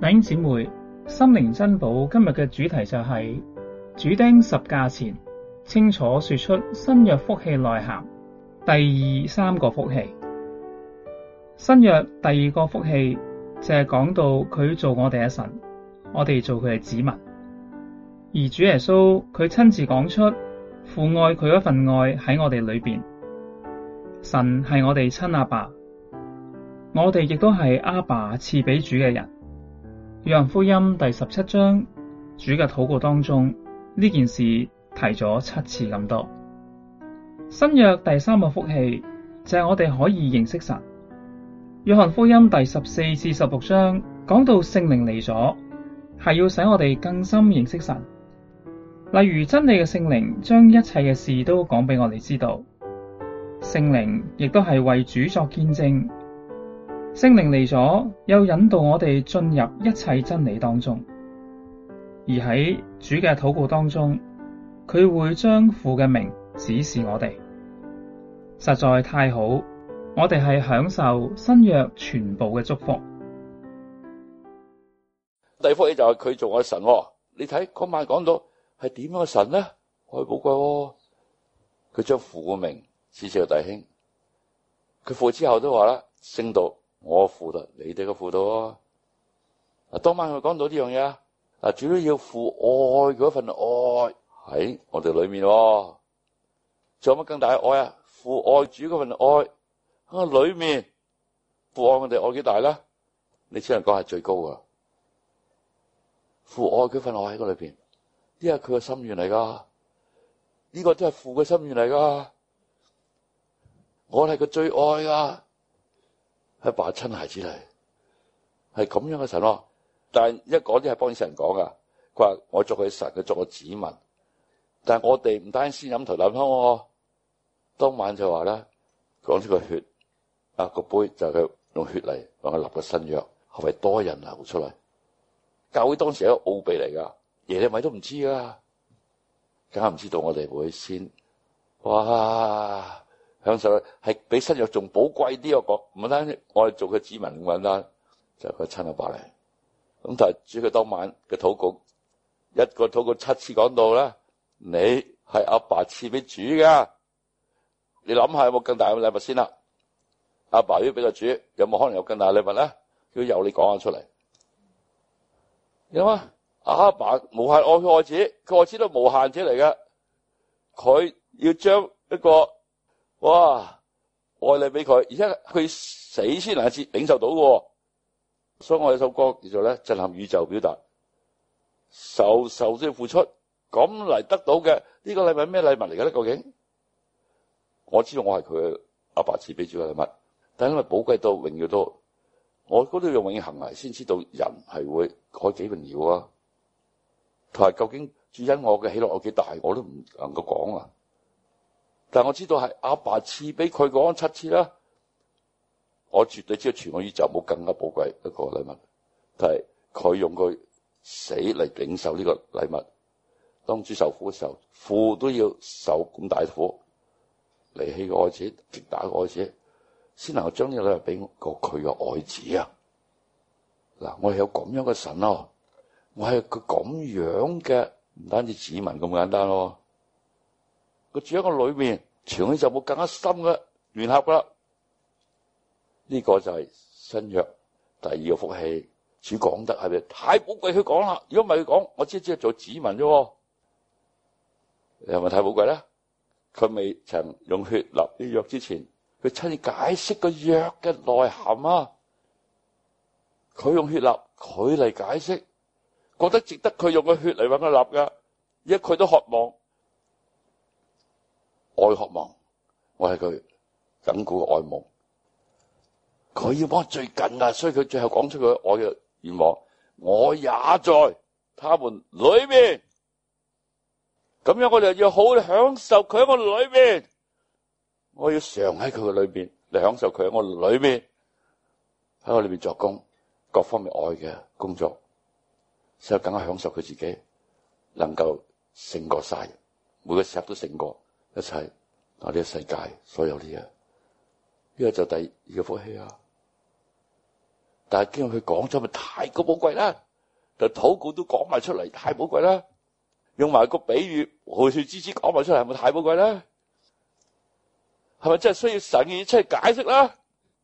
弟兄姊妹，心靈珍寶今日嘅主題就係主釘十架前，清楚說出新約福氣內涵。第三個福氣，新約第二個福氣就係講到佢做我哋嘅神，我哋做佢嘅子民。而主耶穌佢親自講出父愛佢嗰份愛喺我哋裏邊，神係我哋親阿爸，我哋亦都係阿爸賜俾主嘅人。約翰福音第17章主嘅禱告當中，呢件事提咗7次咁多。新約第三個福氣就係我哋可以認識神。約翰福音第14至16章講到聖靈嚟咗，係要使我哋更深認識神。例如真理嘅聖靈將一切嘅事都講俾我哋知道，聖靈亦都係為主作見證。聖靈嚟咗，又引導我哋進入一切真理當中。而喺主嘅禱告當中，佢會將父嘅名指示我哋，實在太好。我哋係享受新約全部嘅祝福。 第二福氣就係佢做我嘅神。你睇嗰晚講到係點樣嘅神呢？好寶貴。佢將父嘅名指示個弟兄，佢父之後都話啦，升到我父度，你哋嘅父度。當晚佢講到呢樣嘢，主要要父愛嗰份愛喺我哋裏面。仲有乜更大嘅愛啊？父愛主嗰份愛喺我裏面，父愛我哋愛幾大咧？你只能講係最高噶。父愛嗰份愛喺個裏邊，呢係佢嘅心願嚟噶，呢個都係父嘅心願嚟噶。我係佢最愛噶。係爸親孩子嚟，係咁樣嘅神。但係一講啲係幫啲神講噶，佢話我作佢神，佢作我子民。但係我哋唔單止先飲頭啖湯，當晚就話咧，講出個血個杯就係佢用血嚟幫佢立個新約，係為多人流出嚟。教會當時係一個奧秘嚟噶，耶利米都唔知噶，梗係唔知道我哋會先哇！享受係比新約仲寶貴啲，我講唔單止我哋做佢子民咁簡單，就係佢親阿爸嚟。咁但係主佢當晚嘅禱告，一個禱告7次講到咧，你係阿爸賜俾主噶。你諗下有冇更大嘅禮物先啦？阿爸要俾個主，有冇可能有更大嘅禮物咧？要有你講下出嚟。有啊，阿爸無限愛佢愛子，佢愛子都無限者嚟嘅，佢要將一個哇愛你俾佢，而且佢死先能夠領受到嘅。所以我有首歌叫做咧震撼宇宙，表達受都要付出，咁嚟得到嘅呢個禮物係咩禮物嚟嘅咧？究竟我知道我係佢阿爸賜俾主嘅禮物，但係因為寶貴到榮耀到，我嗰度用永恆嚟先知道人係會可幾榮耀啊！同埋究竟主因我嘅喜樂有幾大，我都唔能夠講啊！但係我知道係阿爸賜俾佢講7次啦，我絕對知道全個宇宙冇更加寶貴一個禮物，但係佢用佢死嚟領受呢個禮物。當主受苦嘅時候，父都要受咁大苦，離棄個愛子，擊打個愛子，先能夠將呢個禮物俾個佢嘅愛子啊！嗱，我係有咁樣嘅神咯，我係佢咁樣嘅，唔單止子民咁簡單咯。佢住喺個裏面，全宇宙冇更加深嘅聯合噶啦。呢個就係新約第二個福氣。主講得係咪太寶貴？佢講啦，如果唔係佢講，我只係做子民啫。你係咪太寶貴咧？佢未曾用血立呢約之前，佢親自解釋個約嘅內涵啊！佢用血立，佢嚟解釋，覺得值得佢用個血嚟搵佢立噶，而家佢都渴望。愛渴望，我係佢緊固嘅愛慕，佢要幫我最近啊，所以佢最後講出佢愛嘅願望，我也在他們裏面，咁樣我哋要好好享受佢喺我裏面，我要常喺佢嘅裏面嚟享受佢喺我裏面，喺我裏面作工，各方面愛嘅工作，所以更加享受佢自己能夠勝過晒，每個時刻都勝過一切我哋嘅世界所有啲嘢，呢個就第二個福氣啊！ 但係經過佢講咗，咪太過寶貴啦。就禱告都講埋出嚟，太寶貴啦。用埋個比喻，蘆葦枝子講埋出嚟，係咪太寶貴啦？係咪真係需要神嘅出嚟解釋啦？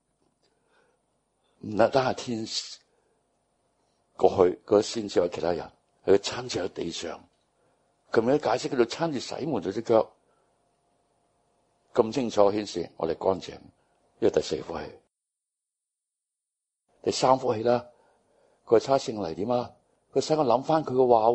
唔單係天使過去嗰先至有其他人，係佢親自喺地上，咁樣解釋佢就親自洗門咗隻腳，咁清楚顯示我哋乾淨。呢個第四福氣，第三福氣啦，佢係差聖靈點啊？佢使我諗翻佢嘅話，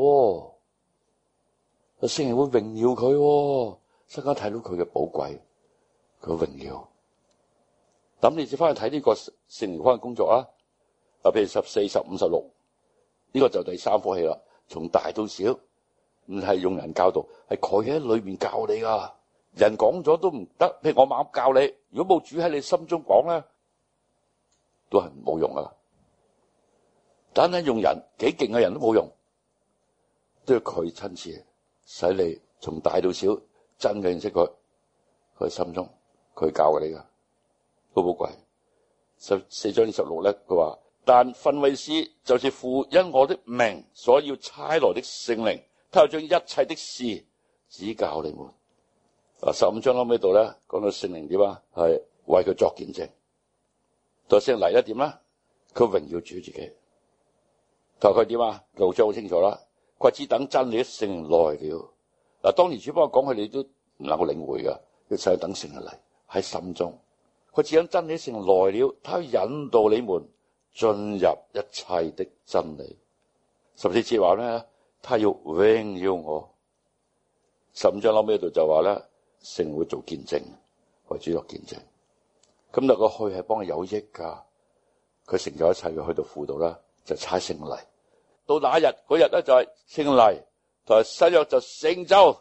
個聖靈會榮耀佢，使我睇到佢嘅寶貴，佢嘅榮耀。咁你接翻去睇呢個聖靈方嘅工作啊，譬如14、15、16，呢個就第三福氣啦。從大到小，唔係用人教導，係佢喺裏面教你噶。人講咗都唔得，譬如我猛教你，如果冇主喺你心中講咧，都係冇用噶。但係用人幾勁嘅人都冇用，都要佢親自使你從大到小真嘅認識佢，佢心中佢教你噶，好寶貴。14章26咧，佢話：但訓慰師就是父因我的名所要差來的聖靈，他又將一切的事指教你們。15章後尾度咧，講到聖靈點啊？係為佢作見證。到聖靈嚟一點啦，佢榮耀主自己。同佢點啊？6章好清楚啦。佢只等真理的聖靈來了。嗱，當年主幫我講，佢哋都唔能夠領會噶，要使等聖靈嚟喺心中。佢只等真理的聖靈來了，他引導你們進入一切的真理。14節話咧，他要榮耀我。15章後尾度就話咧，聖靈會做見證，為主作見證。咁但個去係幫佢有益噶，佢成就一切嘅去到輔導啦，就差聖靈嚟。到那日嗰日咧就係聖靈嚟，同埋新約就成就。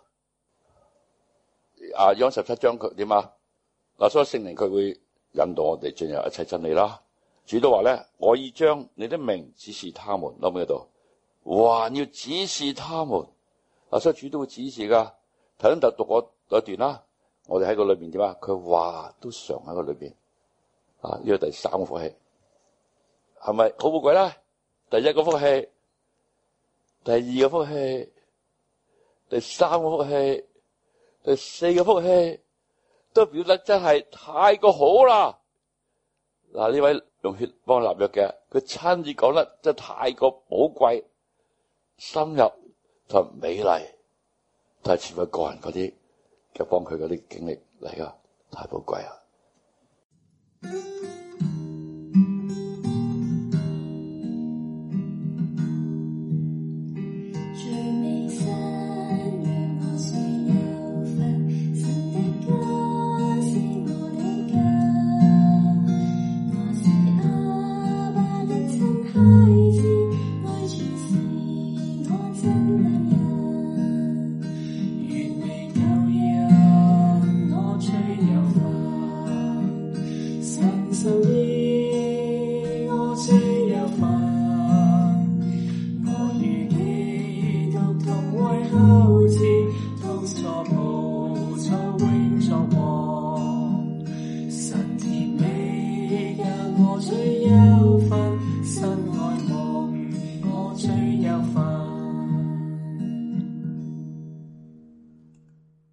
約翰17章佢點啊？嗱，所以聖靈佢會引導我哋進入一切真理啦。主都話咧，我已將你的名指示他們，諗喺度，還要指示他們。嗱，所以主都會指示噶。頭先就讀過一段啦，我哋喺個裏邊點啊？佢話都常喺個裏邊。呢個第三個福氣係咪好寶貴啦？第一個福氣，第二個福氣，第三個福氣，第四個福氣，都表得真係太過好啦！嗱，呢位用血幫我立約嘅，佢親自講得真係太過寶貴、深入同美麗，都係似乎個人嗰啲嘅幫佢嗰啲經歷嚟噶，太寶貴啊！ So